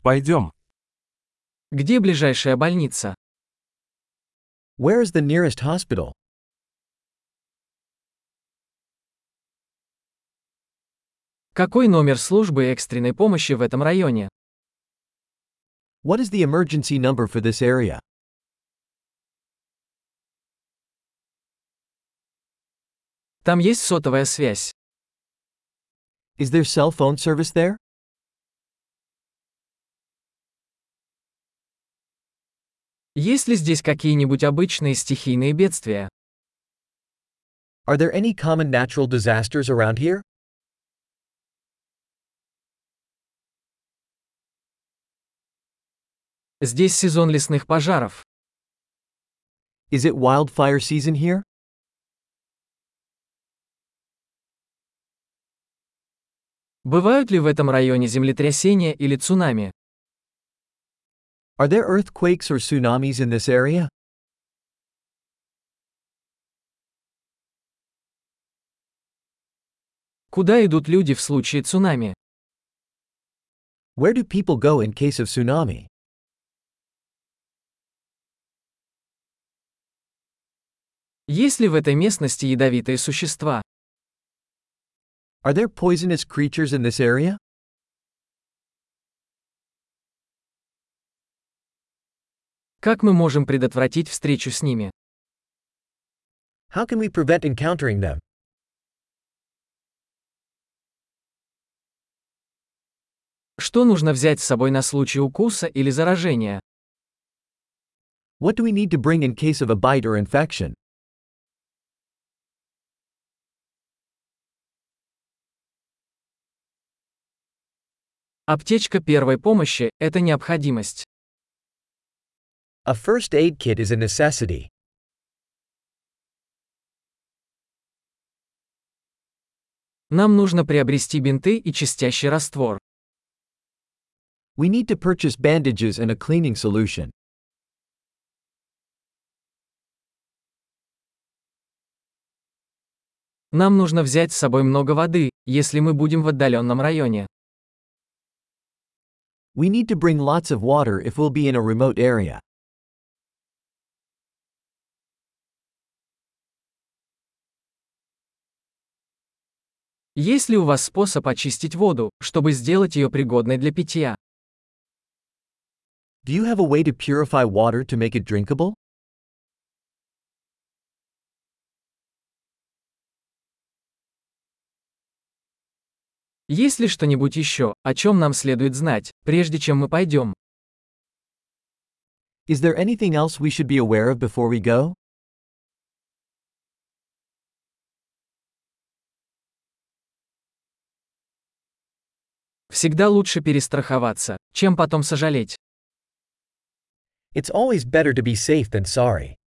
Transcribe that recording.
Пойдем. Где ближайшая больница? Where is the nearest hospital? Какой номер службы экстренной помощи в этом районе? What is the emergency number for this area? Там есть сотовая связь. Is there cell phone service there? Есть ли здесь какие-нибудь обычные стихийные бедствия? Are there any common natural disasters around here? Здесь сезон лесных пожаров. Is it wildfire season here? Бывают ли в этом районе землетрясения или цунами? Are there earthquakes or tsunamis in this area? Куда идут люди в случае цунами? Where do people go in case of tsunami? Есть ли в этой местности ядовитые существа? Are there poisonous creatures in this area? Как мы можем предотвратить встречу с ними? How can we prevent encountering them? Что нужно взять с собой на случай укуса или заражения? What do we need to bring in case of a bite or infection? Аптечка первой помощи – это необходимость. A first aid kit is a necessity. Нам нужно приобрести бинты и чистящий раствор. We need to purchase bandages and a cleaning solution. Нам нужно взять с собой много воды, если мы будем в отдаленном районе. We need to bring lots of water if we'll be in a remote area. Есть ли у вас способ очистить воду, чтобы сделать ее пригодной для питья? Do you have a way to purify water to make it drinkable? Есть ли что-нибудь еще, о чем нам следует знать, прежде чем мы пойдем? Is there anything else we should be aware of before we go? Всегда лучше перестраховаться, чем потом сожалеть. It's always better to be safe than sorry.